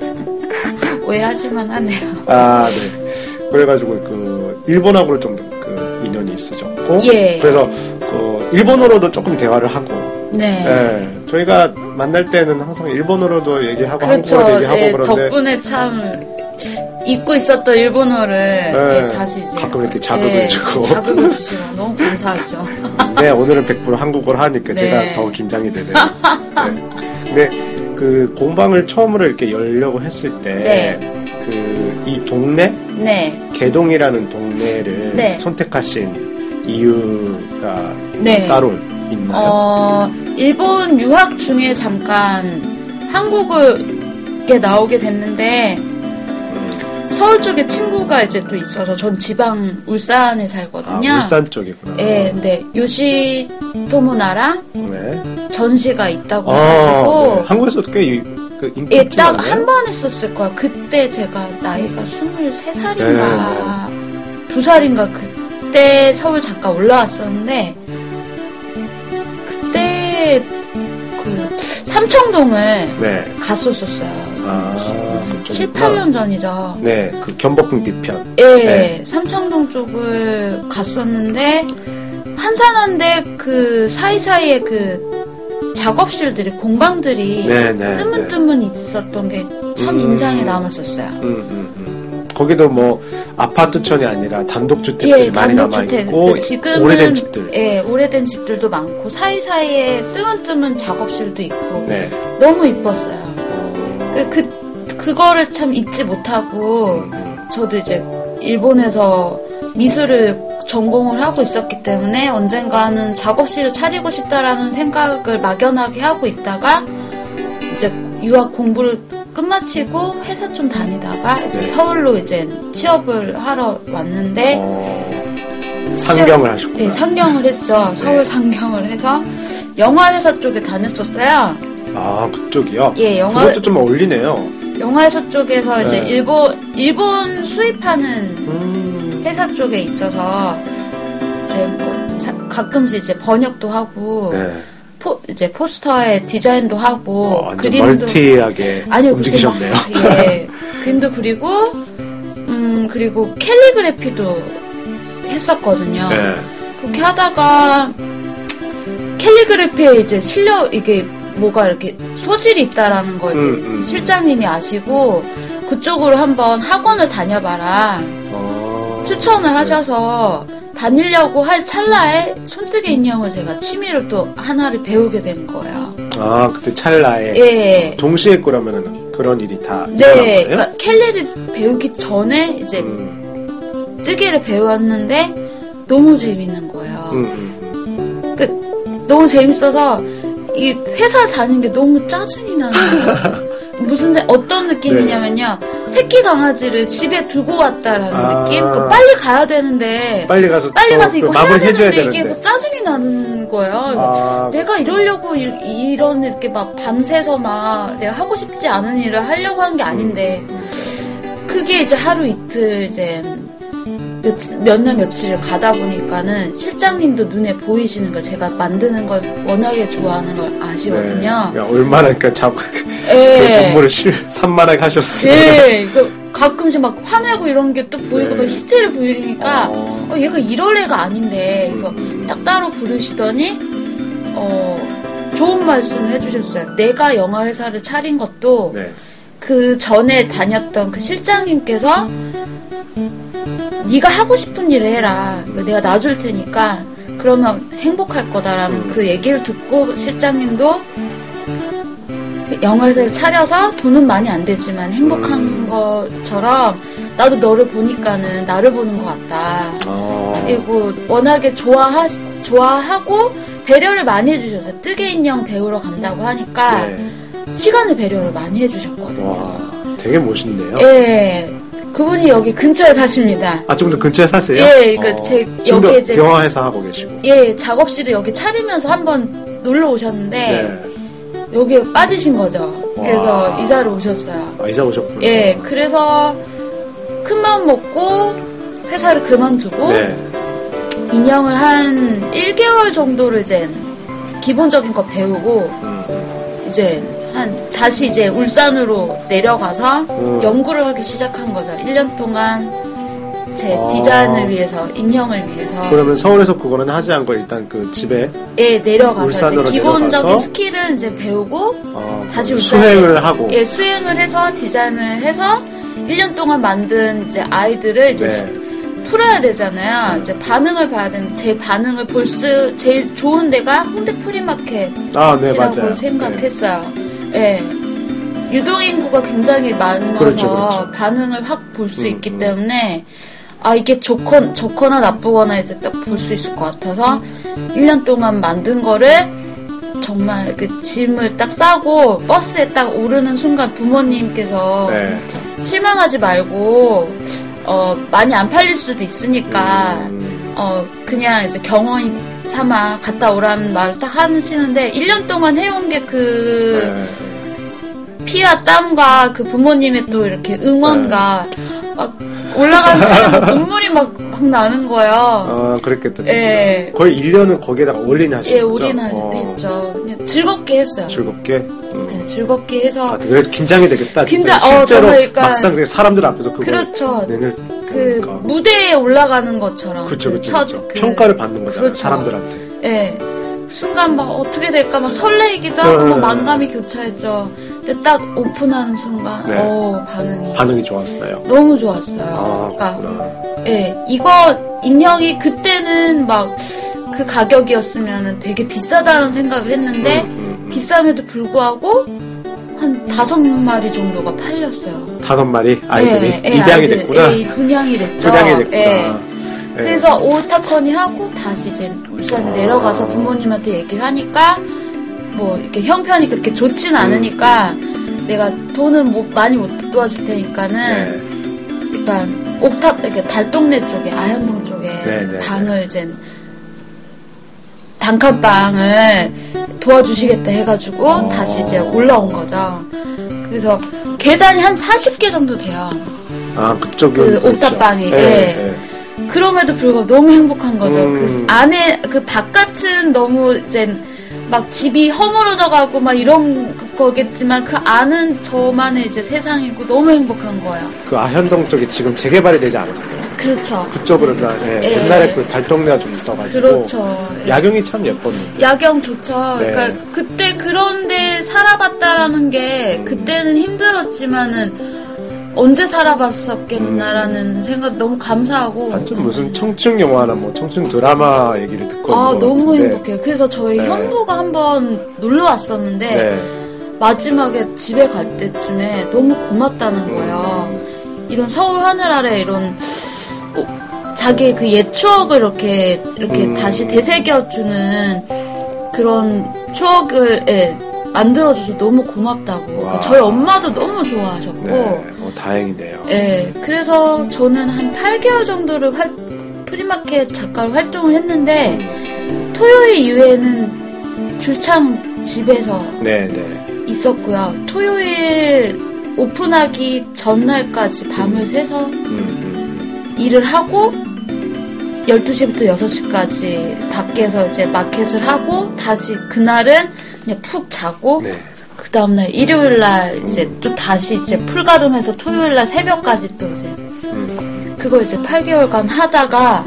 오해하실만 하네요. 아, 네. 그래가지고 그 일본하고는 좀 그 인연이 있으셨고. 예. 그래서 그 일본어로도 조금 대화를 하고. 네. 네. 저희가 만날 때는 항상 일본어로도 얘기하고 그렇죠. 한국어도 얘기하고 예, 그런데 덕분에 참 잊고 있었던 일본어를 예, 다시 이제 가끔 이렇게 자극을 주고 자극을 주시고 너무 감사하죠. 네, 오늘은 100% 한국어를 하니까 네. 제가 더 긴장이 되네요. 네. 근데 그 공방을 처음으로 이렇게 열려고 했을 때 그 이 동네 개동이라는 동네를 선택하신 이유가 따로 있나요? 일본 유학 중에 잠깐 한국에 나오게 됐는데 서울 쪽에 친구가 이제 또 있어서 전 지방 울산에 살거든요. 아, 울산 쪽이구나. 네, 근데 요시토모나라 전시가 있다고 해가지고 네. 한국에서도 꽤 인기 있지 않나요? 딱 한 번 했었을 거야. 그때 제가 나이가 23살인가 2살인가 그때 서울 잠깐 올라왔었는데 그때 그 삼청동을 갔었었어요. 7, 8년 전이죠. 네, 그 경복궁 뒤편. 네, 삼청동 쪽을 갔었는데 한산한데 그 사이사이에 그 작업실들이 공방들이 뜨문뜨문 있었던 게 참 인상에 남았었어요. 거기도 뭐 아파트촌이 아니라 단독주택들이 많이 남아있고 지금은 오래된 집들. 예, 오래된 집들도 많고 사이사이에 뜨문뜨문 작업실도 있고 너무 이뻤어요. 그거를 참 잊지 못하고 저도 이제 일본에서 미술을 전공을 하고 있었기 때문에 언젠가는 작업실을 차리고 싶다라는 생각을 막연하게 하고 있다가 이제 유학 공부를 끝마치고 회사 좀 다니다가 이제 서울로 이제 취업을 하러 왔는데 상경을 하셨구나. 네, 상경을 했죠. 서울 상경을 해서 영화회사 쪽에 다녔었어요. 아, 그쪽이요? 예, 그것도 좀 어울리네요. 영화회사 쪽에서 이제 네. 일본 수입하는 회사 쪽에 있어서 이제 뭐 가끔씩 이제 번역도 하고 네. 이제 포스터에 디자인도 하고 완전 그림도 멀티하게 아니요, 움직이셨네요. 예, 그림도 그리고 그리고 캘리그래피도 했었거든요. 네. 그렇게 하다가 캘리그래피에 이제 이게 뭐가 이렇게 소질이 있다라는 걸 이제 실장님이 아시고 그쪽으로 한번 학원을 다녀봐라 추천을 하셔서 다니려고 할 찰나에 손뜨개 인형을 제가 취미로 또 하나를 배우게 된 거예요. 아, 그때 찰나에 예. 동시에 그러면은 그런 일이 다 일어난 네, 거예요? 그러니까 캘리를 배우기 전에 이제 뜨개를 배웠는데 너무 재밌는 거예요. 그러니까 너무 재밌어서 이 회사를 다니는 게 너무 짜증이 나는 거예요. 어떤 느낌이냐면요. 새끼 강아지를 집에 두고 왔다라는 느낌? 빨리 가야 되는데. 빨리 가서 이거 마무리 해줘야 되는데 되는데. 이게 짜증이 나는 거예요. 내가 이러려고 이런 이렇게 막 밤새서 막 내가 하고 싶지 않은 일을 하려고 하는 게 아닌데. 그게 이제 하루 이틀 이제 몇 날 며칠을 가다 보니까는 실장님도 눈에 보이시는 거 제가 만드는 걸 워낙에 좋아하는 걸 아시거든요. 네. 얼마나 그러니까 예. 공부를 산만하게 하셨어요. 네, 가끔씩 막 화내고 이런 게 또 보이고 막 히스테리 보이니까 얘가 이럴 애가 아닌데 그래서 딱 따로 부르시더니 좋은 말씀 해주셨어요. 내가 영화 회사를 차린 것도 그 전에 다녔던 그 실장님께서 네가 하고 싶은 일을 해라. 내가 놔줄 테니까 그러면 행복할 거다라는 그 얘기를 듣고 실장님도 영화회사를 차려서 돈은 많이 안 되지만 행복한 것처럼 나도 너를 보니까는 나를 보는 것 같다. 그리고 워낙에 좋아하고 배려를 많이 해주셨어요. 뜨개 인형 배우러 간다고 하니까 시간을 배려를 많이 해주셨거든요. 와, 되게 멋있네요. 예. 그분이 여기 근처에 사십니다. 아, 좀 더 근처에 사세요? 예, 그러니까 여기 이제 영화회사 하고 계시고. 예, 작업실을 여기 차리면서 한번 놀러 오셨는데 여기에 빠지신 거죠. 그래서 이사를 오셨어요. 아, 이사 오셨구나. 예, 그래서 큰 마음 먹고 회사를 그만두고 인형을 한 1개월 정도를 이제 기본적인 거 배우고 이제 다시 이제 울산으로 내려가서 연구를 하기 시작한 거죠. 1년 동안 제 디자인을 위해서, 인형을 위해서. 그러면 서울에서 그거는 하지 않고 일단 그 집에 내려가서 이제 기본적인 내려가서 스킬은 이제 배우고 다시 수행을 하고. 수행을 해서 디자인을 해서 1년 동안 만든 이제 아이들을 이제 풀어야 되잖아요. 이제 반응을 봐야 되는데 제 반응을 제일 좋은 데가 홍대 프리마켓이라고 생각했어요. 예. 유동인구가 굉장히 많아서 그렇죠. 반응을 확 볼 수 있기 때문에 이게 좋거나 나쁘거나 이제 딱 볼 수 있을 것 같아서 1년 동안 만든 거를 정말 그 짐을 딱 싸고 버스에 딱 오르는 순간 부모님께서 실망하지 말고 많이 안 팔릴 수도 있으니까 그냥 이제 경험 삼아 갔다 오라는 말을 딱 하시는데 1년 동안 해온 게 피와 땀과 그 부모님의 또 이렇게 응원과 막 올라가는 차에 눈물이 막 나는 거예요. 그랬겠다, 진짜. 거의 1년은 거기에다가 올인하셨죠? 예, 올인했죠. 그냥 즐겁게 했어요. 즐겁게? 네, 즐겁게 해서. 그래, 긴장이 되겠다, 진짜. 실제로 막상 사람들 앞에서 그걸 그렇죠. 그러니까. 무대에 올라가는 것처럼. 그렇죠. 평가를 받는 거잖아요, 사람들한테. 예. 순간 막 어떻게 될까 막 설레이기도 하고 막 만감이 교차했죠. 근데 딱 오픈하는 순간 반응이 좋았어요. 너무 좋았어요. 그러니까 이거 인형이 그때는 막 그 가격이었으면 되게 비싸다는 생각을 했는데 비쌈에도 불구하고 한 5마리 정도가 팔렸어요. 5마리 아이들이 입양이 됐구나. 분양이 됐죠. 그래서 오타커니 하고 다시 이제 울산에 내려가서 부모님한테 얘기를 하니까 뭐 이렇게 형편이 그렇게 좋진 않으니까 내가 돈을 많이 못 도와줄 테니까는 일단 이렇게 달동네 쪽에 아현동 쪽에 방을 이제 단칸방을 도와주시겠다 해가지고 다시 이제 올라온 거죠. 그래서 계단이 한 40개 정도 돼요. 아, 그쪽은 그 옥탑방이. 그렇죠. 네. 그럼에도 불구하고 너무 행복한 거죠. 그 안에, 그 바깥은 너무 이제 막 집이 허물어져 가고 막 이런 거겠지만 그 안은 저만의 이제 세상이고 너무 행복한 거예요. 그 아현동 쪽이 지금 재개발이 되지 않았어요. 그렇죠. 그쪽으로가 옛날에 그 달동네가 좀 있어가지고. 그렇죠. 야경이 참 예뻤는데. 야경 좋죠. 그러니까 그때 그런데 살아봤다라는 게 그때는 힘들었지만은 언제 살아봤었겠나라는 생각 너무 감사하고. 완전 무슨 청춘 영화나 뭐 청춘 드라마 얘기를 듣고 너무 행복해요. 그래서 저희 형부가 한번 놀러 왔었는데 마지막에 집에 갈 때쯤에 너무 고맙다는 거예요. 이런 서울 하늘 아래 이런 자기의 그 옛 추억을 이렇게 다시 되새겨주는 그런 추억을 만들어줘서 너무 고맙다고. 그러니까 저희 엄마도 너무 좋아하셨고. 다행이네요. 네, 그래서 저는 한 8개월 정도를 프리마켓 작가로 활동을 했는데 토요일 이후에는 줄창 집에서 있었고요. 토요일 오픈하기 전날까지 밤을 새서 일을 하고 12시부터 6시까지 밖에서 이제 마켓을 하고 다시 그날은 그냥 푹 자고 그 다음날 일요일날 이제 또 다시 이제 풀가름해서 토요일날 새벽까지 또 이제 그거 이제 8개월간 하다가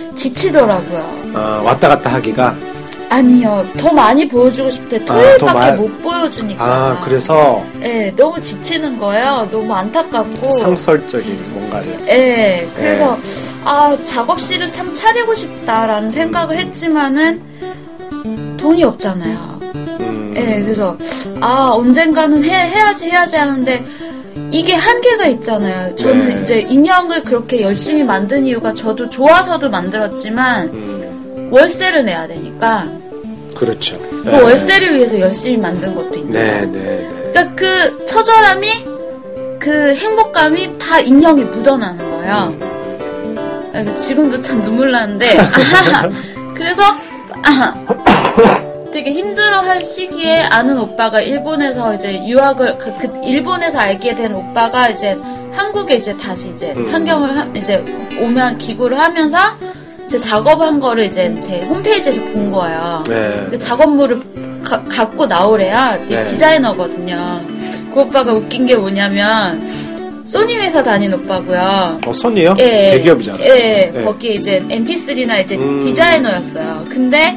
지치더라고요. 왔다 갔다 하기가? 아니요. 더 많이 보여주고 싶대. 토요일밖에 못 보여주니까. 아, 그래서? 네, 너무 지치는 거예요. 너무 안타깝고. 상설적인 뭔가를. 네, 그래서 작업실을 참 차리고 싶다라는 생각을 했지만은 돈이 없잖아요. 네, 그래서 언젠가는 해야지 하는데 이게 한계가 있잖아요. 저는 이제 인형을 그렇게 열심히 만든 이유가 저도 좋아서도 만들었지만 월세를 내야 되니까. 그렇죠. 그 월세를 위해서 열심히 만든 것도 있는 거예요. 그러니까 그 처절함이 그 행복감이 다 인형에 묻어나는 거예요. 지금도 참 눈물 나는데 그래서 되게 힘들어할 시기에 아는 오빠가 일본에서 이제 유학을 일본에서 알게 된 오빠가 이제 한국에 이제 다시 이제 상경을 이제 오면 기구를 하면서 제 작업한 거를 이제 제 홈페이지에서 본 거예요. 작업물을 갖고 나오래야 디자이너거든요. 그 오빠가 웃긴 게 뭐냐면 소니 회사 다닌 오빠고요. 소니요? 대기업이잖아요. 거기에 이제 MP3나 이제 디자이너였어요. 근데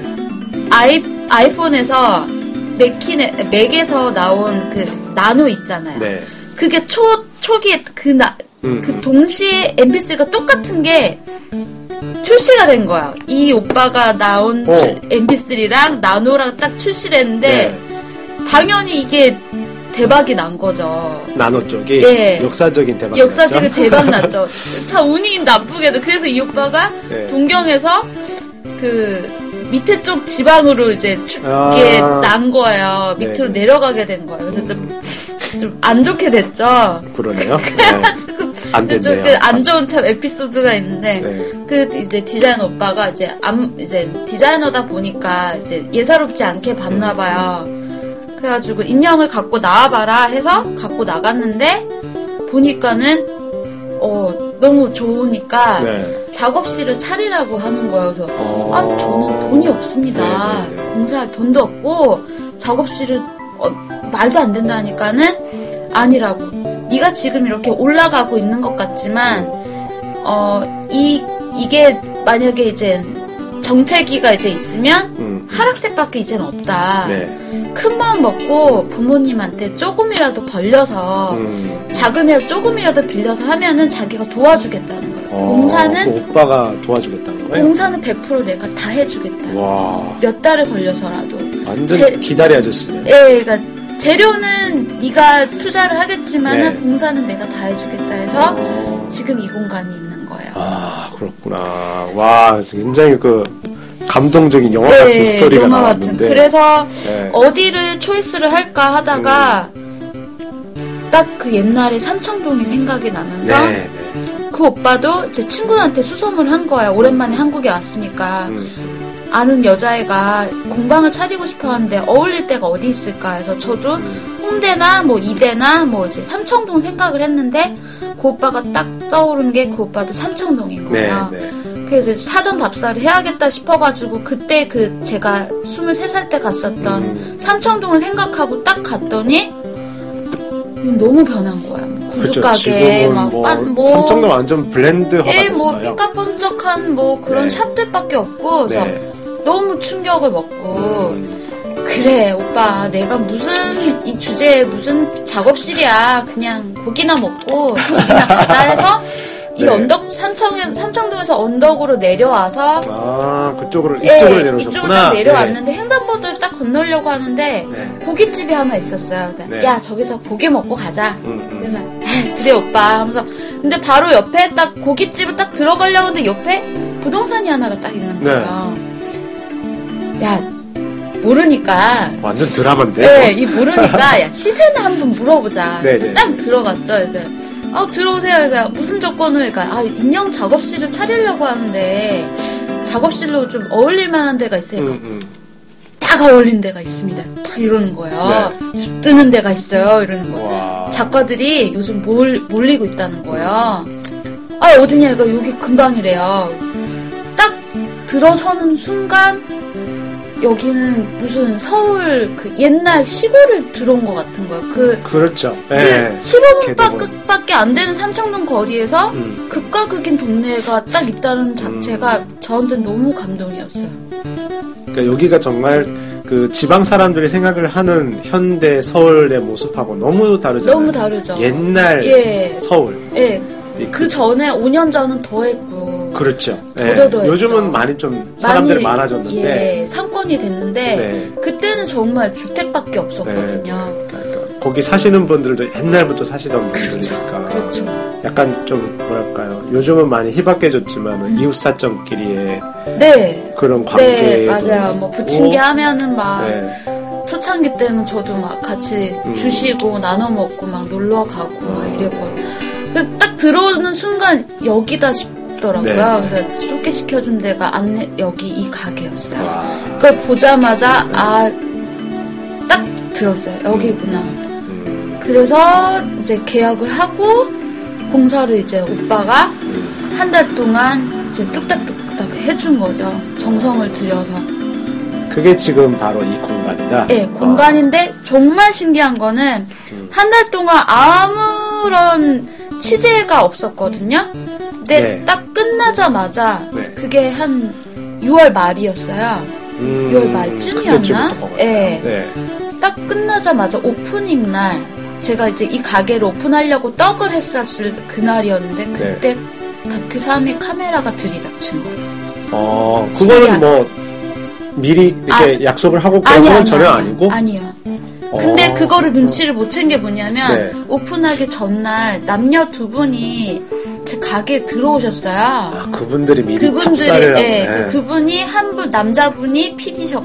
아이폰에서 맥에서 나온 그 나노 있잖아요. 그게 초기에 그 동시에 MP3가 똑같은 게 출시가 된 거야. 이 오빠가 나온 MP3랑 나노랑 딱 출시를 했는데 당연히 이게 대박이 난 거죠. 나노 쪽이? 역사적인 대박 났죠? 역사적인 대박 났죠. 참 운이 나쁘게도. 그래서 이 오빠가 동경에서 그 밑에 쪽 지방으로 이제 춥게 난 거예요. 밑으로 내려가게 된 거예요. 그래서 좀 안 좋게 됐죠. 그러네요. 그래가지고 안 됐네요. 안 좋은 참 에피소드가 있는데 그 이제 디자이너 오빠가 이제 디자이너다 보니까 이제 예사롭지 않게 봤나 봐요. 그래가지고 인형을 갖고 나와봐라 해서 갖고 나갔는데 보니까는 너무 좋으니까 작업실을 차리라고 하는 거예요. 그래서 저는 돈이 없습니다. 공사할 돈도 없고 작업실을 말도 안 된다니까는 아니라고. 네가 지금 이렇게 올라가고 있는 것 같지만 이게 만약에 이제 정체기가 이제 있으면 하락세밖에 이제는 없다. 큰 마음 먹고 부모님한테 조금이라도 벌려서 자금이라도 조금이라도 빌려서 하면은 자기가 도와주겠다는 거예요. 공사는 그 오빠가 도와주겠다는 거예요? 공사는 100% 내가 다 해주겠다. 와. 몇 달을 걸려서라도. 완전 기다리 아저씨네. 그러니까 재료는 네가 투자를 하겠지만 공사는 내가 다 해주겠다 해서 지금 이 공간이 있는 거예요. 아, 그렇구나. 와, 굉장히 그 감동적인 영화 같은 스토리가 나왔는데. 그래서 어디를 초이스를 할까 하다가 딱 그 옛날에 삼청동이 생각이 나면서 그 오빠도 제 친구한테 수소문을 한 거예요. 오랜만에 한국에 왔으니까. 아는 여자애가 공방을 차리고 싶어 하는데 어울릴 데가 어디 있을까 해서 저도 홍대나 뭐 이대나 뭐 이제 삼청동 생각을 했는데 그 오빠가 딱 떠오른 게 그 오빠도 삼청동인 거예요. 네. 그래서 사전 답사를 해야겠다 싶어가지고 그때 그 제가 23살 때 갔었던 삼청동을 생각하고 딱 갔더니 너무 변한 거야. 구두가게 뭐 삼청동 완전 블렌드화가 됐어요. 뭐 삐까뻔쩍한 뭐 그런 샵들밖에 없고 그래서 너무 충격을 먹고 그래 오빠 내가 무슨 이 주제에 무슨 작업실이야 그냥 고기나 먹고 집이나 가자 해서 이 언덕 삼청동에서 언덕으로 내려와서 이쪽으로 내려오셨구나. 이쪽으로 딱 내려왔는데 횡단보도를 딱 건너려고 하는데 고깃집이 하나 있었어요. 그래서 야 저기서 고기 먹고 가자. 그래서 그래 오빠 하면서 근데 바로 옆에 딱 고깃집을 딱 들어가려고 하는데 옆에 부동산이 하나가 딱 있는 거예요. 야 모르니까 완전 드라마인데. 네, 이 모르니까 야 시세나 한번 물어보자. 딱 들어갔죠. 그래서 들어오세요. 그래서 무슨 조건을, 그러니까, 인형 작업실을 차리려고 하는데, 작업실로 좀 어울릴 만한 데가 있으니까, 딱 어울린 데가 있습니다. 딱 이러는 거예요. 뜨는 데가 있어요. 이러는 거예요. 작가들이 요즘 몰리고 있다는 거예요. 어디냐, 이거 여기 근방이래요. 딱 들어서는 순간, 여기는 무슨 서울 그 옛날 시골을 들어온 것 같은 거예요. 그렇죠. 그 15분밖에 안 되는 삼청동 거리에서 극과 극인 동네가 딱 있다는 자체가 저한테는 너무 감동이었어요. 그러니까 여기가 정말 그 지방 사람들이 생각을 하는 현대 서울의 모습하고 너무 다르잖아요. 너무 다르죠. 옛날 서울. 그 전에 5년 전은 더했고. 그렇죠. 요즘은 많이 좀 사람들이 많아졌는데 상권이 됐는데 그때는 정말 주택밖에 없었거든요. 그러니까 거기 사시는 분들도 옛날부터 사시던 분들이니까 그렇죠. 약간 좀 뭐랄까요. 요즘은 많이 희박해졌지만 이웃사정끼리의 그런 관계 맞아요. 뭐 부침개 하면은 막 초창기 때는 저도 막 같이 주시고 나눠 먹고 막 놀러 가고 막 이랬거든요. 딱 들어오는 순간 여기다 싶더라고요. 그래서 소개시켜준 데가 여기 이 가게였어요. 그걸 보자마자 딱 들었어요. 여기구나. 그래서 이제 계약을 하고 공사를 이제 오빠가 한 달 동안 이제 뚝딱뚝딱 해준 거죠. 정성을 들여서. 그게 지금 바로 이 공간이다? 네, 공간인데 정말 신기한 거는 한 달 동안 아무런 취재가 없었거든요. 근데 딱 끝나자마자 그게 한 6월 말이었어요. 6월 말쯤이었나? 딱 끝나자마자 오프닝 날 제가 이제 이 가게를 오픈하려고 떡을 했었을 그날이었는데 그때 다큐 3위 카메라가 들이닥친 거예요. 그거는 뭐 미리 이렇게 약속을 하고 그런 건 전혀 아니고? 아니요. 근데 그거를 눈치를 못 챈 게 뭐냐면 오픈하기 전날 남녀 두 분이 제 가게에 들어오셨어요. 그분들이 미리 탑사를 하고 그분이 한 분 남자분이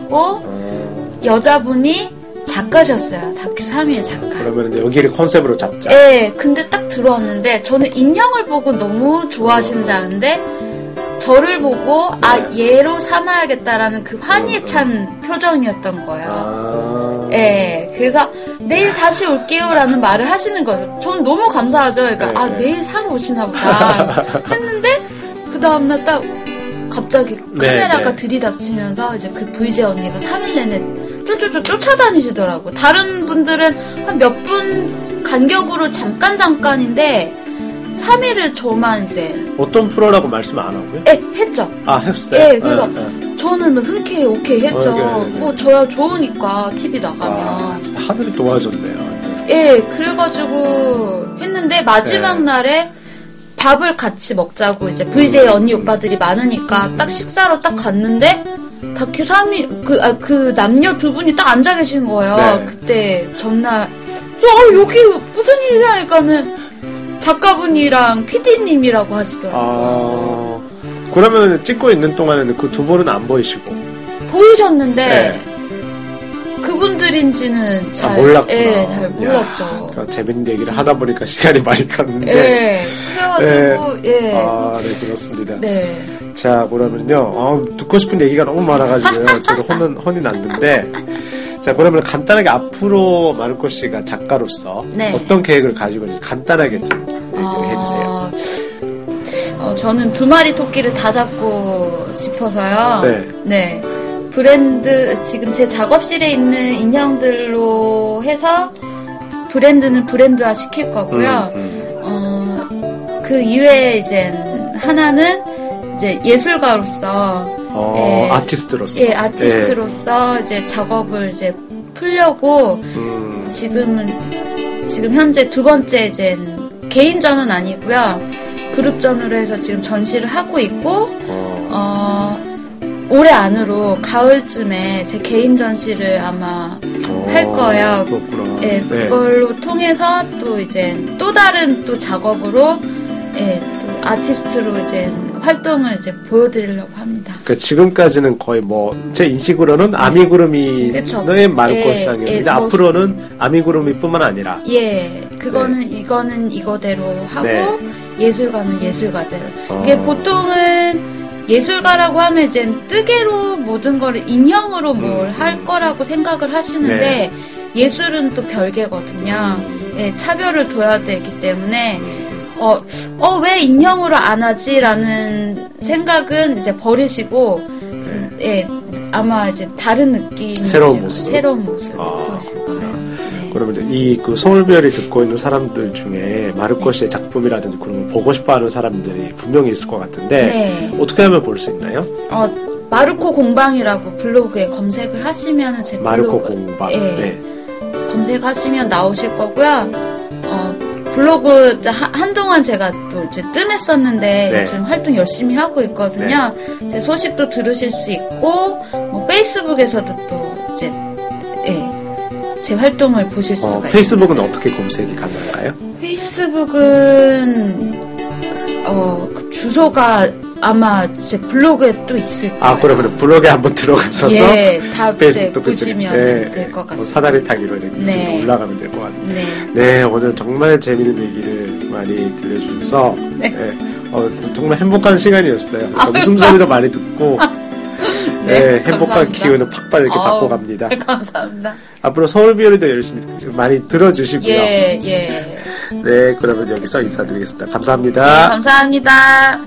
PD셨고 여자분이 작가셨어요. 다큐 3위의 작가. 그러면 여기를 컨셉으로 잡자. 근데 딱 들어왔는데 저는 인형을 보고 너무 좋아하시는 줄 아는데 저를 보고 얘로 삼아야겠다라는 그 환희에 찬 표정이었던 거예요. 그래서 내일 다시 올게요라는 말을 하시는 거예요. 전 너무 감사하죠. 그러니까 내일 사러 오시나 보다 했는데 그 다음날 딱 갑자기 카메라가 들이닥치면서 이제 그 VJ 언니가 3일 내내 쫓아다니시더라고. 다른 분들은 한 몇 분 간격으로 잠깐인데 3일을 저만 이제 어떤 프로라고 말씀 안 하고요? 했죠. 했어요? 그래서 저는 뭐 흔쾌히 오케이 했죠. 뭐 저야 좋으니까 TV 나가면. 진짜 하늘이 도와줬네요. 완전. 그래가지고 했는데 마지막 날에 밥을 같이 먹자고 이제 VJ 언니 오빠들이 많으니까 딱 식사로 딱 갔는데 다큐 3위 그 남녀 두 분이 딱 앉아 계신 거예요. 그때 전날 여기 무슨 일이야 하니까는 작가분이랑 PD님이라고 하시더라고요. 그러면 찍고 있는 동안에는 그 두 분은 안 보이시고 보이셨는데 그분들인지는 잘 몰랐구나. 예, 잘 몰랐죠. 그러니까 재밌는 얘기를 하다 보니까 시간이 많이 갔는데. 예. 그래가지고 예. 아, 네, 그렇습니다. 네. 자, 그러면요. 듣고 싶은 얘기가 너무 많아가지고요. 저도 혼이 났는데. 자, 그러면 간단하게 앞으로 마르코 씨가 작가로서 네. 어떤 계획을 가지고 있는지 간단하게 좀 얘기를 해주세요. 저는 2마리 토끼를 다 잡고 싶어서요. 네. 네. 브랜드, 지금 제 작업실에 있는 인형들로 해서 브랜드는 브랜드화 시킬 거고요. 그 이외에 이제 하나는 이제 예술가로서 예, 아티스트로서. 예, 아티스트로서 이제 작업을 이제 풀려고 지금 현재 2번째 이제 개인전은 아니고요. 그룹전으로 해서 지금 전시를 하고 있고 올해 안으로 가을쯤에 제 개인 전시를 아마 할 거예요. 그렇구나. 예, 그걸로 통해서 또 이제 또 다른 또 작업으로 예, 또 아티스트로 이제 활동을 이제 보여드리려고 합니다. 그 지금까지는 거의 제 인식으로는 아미구루미의 마르코 시장이었는데 앞으로는 아미구루미뿐만 아니라 그거는 이거는 이거대로 하고 예술가는 예술가대로. 이게 보통은 예술가라고 하면 이제 뜨개로 모든 거를 인형으로 뭘 할 거라고 생각을 하시는데 예술은 또 별개거든요. 예, 차별을 둬야 되기 때문에 왜 인형으로 안 하지라는 생각은 이제 버리시고 예, 아마 이제 다른 느낌 새로운 모습 보실 거예요. 그러면 이제 그 서울별이 듣고 있는 사람들 중에 마르코 씨의 작품이라든지 그런 걸 보고 싶어하는 사람들이 분명히 있을 것 같은데 어떻게 하면 볼 수 있나요? 마르코 공방이라고 블로그에 검색을 하시면 제 마르코 블로그, 공방 검색하시면 나오실 거고요. 블로그 한동안 제가 또 이제 뜸했었는데 요즘 활동 열심히 하고 있거든요. 제 소식도 들으실 수 있고 페이스북에서도 또 이제 제 활동을 보실 수가 있어요. 페이스북은 어떻게 검색이 가능한가요? 페이스북은 그 주소가 아마 제 블로그에 또 있을 거예요. 그러면 블로그에 한번 들어가셔서 다 페이스북도 보시면 될 것 같습니다. 사다리 타기로 이렇게 올라가면 될 것 같아요. 네, 오늘 정말 재미있는 얘기를 많이 들려주셔서 정말 행복한 시간이었어요. 웃음소리도 많이 듣고 행복한 기운을 팍팍 이렇게 받고 갑니다. 감사합니다. 앞으로 서울비오리도 열심히 많이 들어주시고요. 네, 그러면 여기서 인사드리겠습니다. 감사합니다. 네, 감사합니다.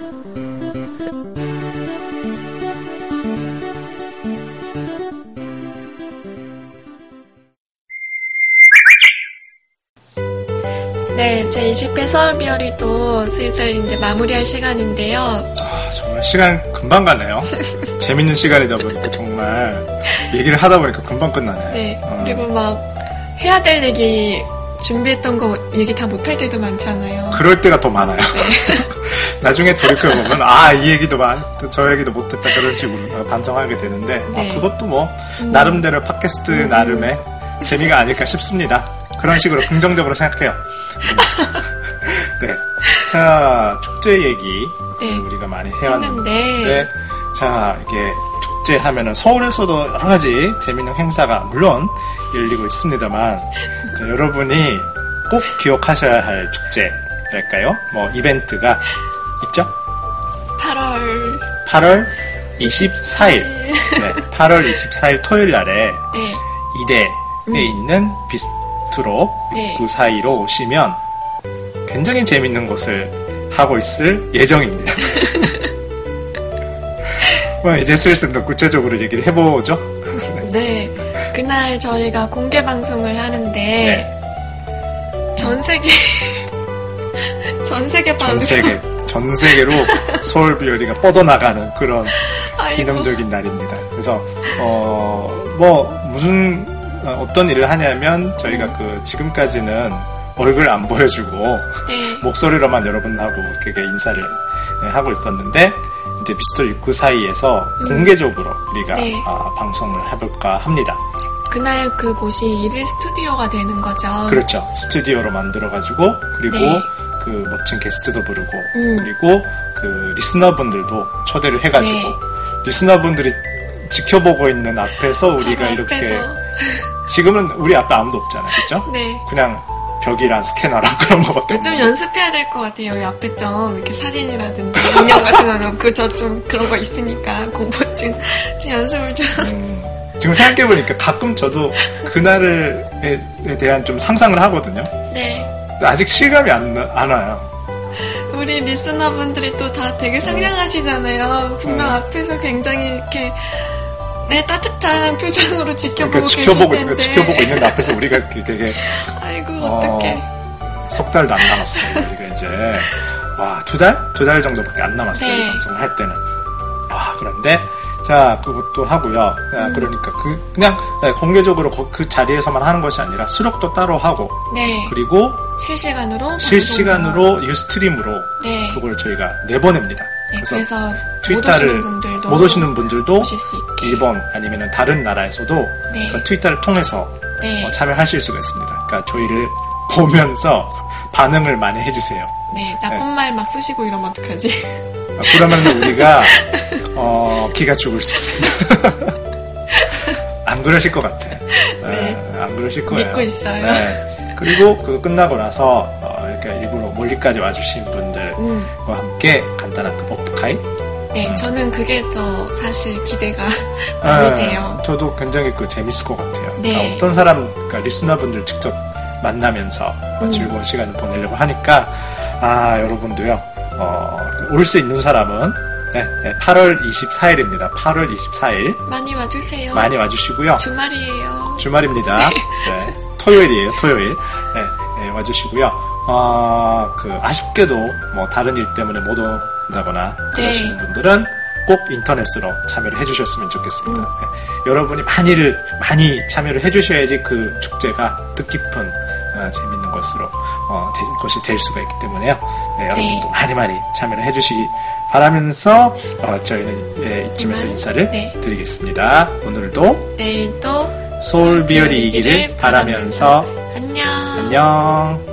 네, 제 20회 서울비어리도 슬슬 이제 마무리할 시간인데요. 정말 시간 금방 가네요. 재밌는 시간이다 보니까 정말 얘기를 하다 보니까 금방 끝나네. 네, 그리고 막 해야 될 얘기 준비했던 거 얘기 다 못할 때도 많잖아요. 그럴 때가 더 많아요. 나중에 돌이켜보면 이 얘기도 저 얘기도 못했다 그런 식으로 반성하게 되는데 그것도 나름대로 팟캐스트 나름의 재미가 아닐까 싶습니다. 그런 식으로 긍정적으로 생각해요. 네. 자, 축제 얘기 우리가 많이 해왔는데 자, 이게 축제 하면은 서울에서도 여러 가지 재밌는 행사가 물론 열리고 있습니다만 자, 여러분이 꼭 기억하셔야 할 축제랄까요? 이벤트가 있죠? 8월 24일. 네, 8월 24일 토요일 날에 이대에 있는 비스트로 입구 사이로 오시면 굉장히 재밌는 것을 하고 있을 예정입니다. 이제 슬슬 더 구체적으로 얘기를 해보죠. 네, 그날 저희가 공개 방송을 하는데 전 세계로 서울비어리가 뻗어나가는 그런 기념적인 날입니다. 그래서 무슨 어떤 일을 하냐면 저희가 지금까지는 얼굴 안 보여주고 목소리로만 여러분하고 되게 인사를 하고 있었는데 이제 비스톨 입구 사이에서 공개적으로 우리가 방송을 해볼까 합니다. 그날 그곳이 1일 스튜디오가 되는 거죠. 그렇죠. 스튜디오로 만들어가지고 그리고 그 멋진 게스트도 부르고 그리고 그 리스너분들도 초대를 해가지고 리스너분들이 지켜보고 있는 앞에서 우리가 이렇게 지금은 우리 앞에 아무도 없잖아요, 그렇죠? 네. 그냥 벽이랑 스캐너랑 그런 거밖에 좀 없는데. 연습해야 될 것 같아요. 여기 앞에 좀 이렇게 사진이라든지 인형 같은 거는 저 좀 그런 거 있으니까 공포증 좀 연습을 좀. 지금 생각해보니까 가끔 저도 그날에 대한 좀 상상을 하거든요. 네. 근데 아직 실감이 안 와요. 우리 리스너분들이 또 다 되게 상냥하시잖아요. 분명 앞에서 굉장히 이렇게 따뜻한 표정으로 지켜보고 계실 텐데. 지켜보고 있는데 앞에서 우리가 되게 아이고 어떡해. 석 달도 안 남았어요. 우리가 이제 두 달 정도밖에 안 남았어요. 네. 방송을 할 때는. 그런데 자 그것도 하고요. 그러니까 그냥 공개적으로 그 자리에서만 하는 것이 아니라 수록도 따로 하고. 네. 그리고 실시간으로 유스트림으로 네. 그걸 저희가 내보냅니다. 네, 그래서 트위터를 못 오시는 분들도 보실 수 있게. 일본 아니면 다른 나라에서도 네. 그 트위터를 통해서 네. 참여하실 수가 있습니다. 그러니까 저희를 보면서 반응을 많이 해주세요. 네, 나쁜 말 막 쓰시고 이러면 어떡하지? 그러면 우리가 기가 죽을 수 있습니다. 안 그러실 것 같아. 네. 안 그러실 거예요. 믿고 있어요. 네. 그리고 그거 끝나고 나서 이렇게 일부러 멀리까지 와주신 분들과 함께 간단한 오프카이. 네, 저는 그게 더 사실 기대가 많이 돼요. 저도 굉장히 재밌을 것 같아요. 네. 어떤 사람, 그러니까 리스너분들 직접 만나면서 즐거운 시간을 보내려고 하니까 여러분도요. 올 수 있는 사람은 8월 24일입니다. 8월 24일 많이 와주세요. 많이 와주시고요. 주말이에요. 주말입니다. 네. 토요일이에요. 토요일. 네, 와주시고요. 아쉽게도 다른 일 때문에 못 온다거나 그러시는 분들은 꼭 인터넷으로 참여를 해주셨으면 좋겠습니다. 네. 여러분이 많이 참여를 해주셔야지 그 축제가 뜻깊은 재밌는 것으로 것이 될 수가 있기 때문에요. 네, 여러분도 많이 참여를 해주시기 바라면서 저희는 이쯤에서 인사를 드리겠습니다. 오늘도 내일도 서울 비열이 이기를 바라면서 안녕. 안녕.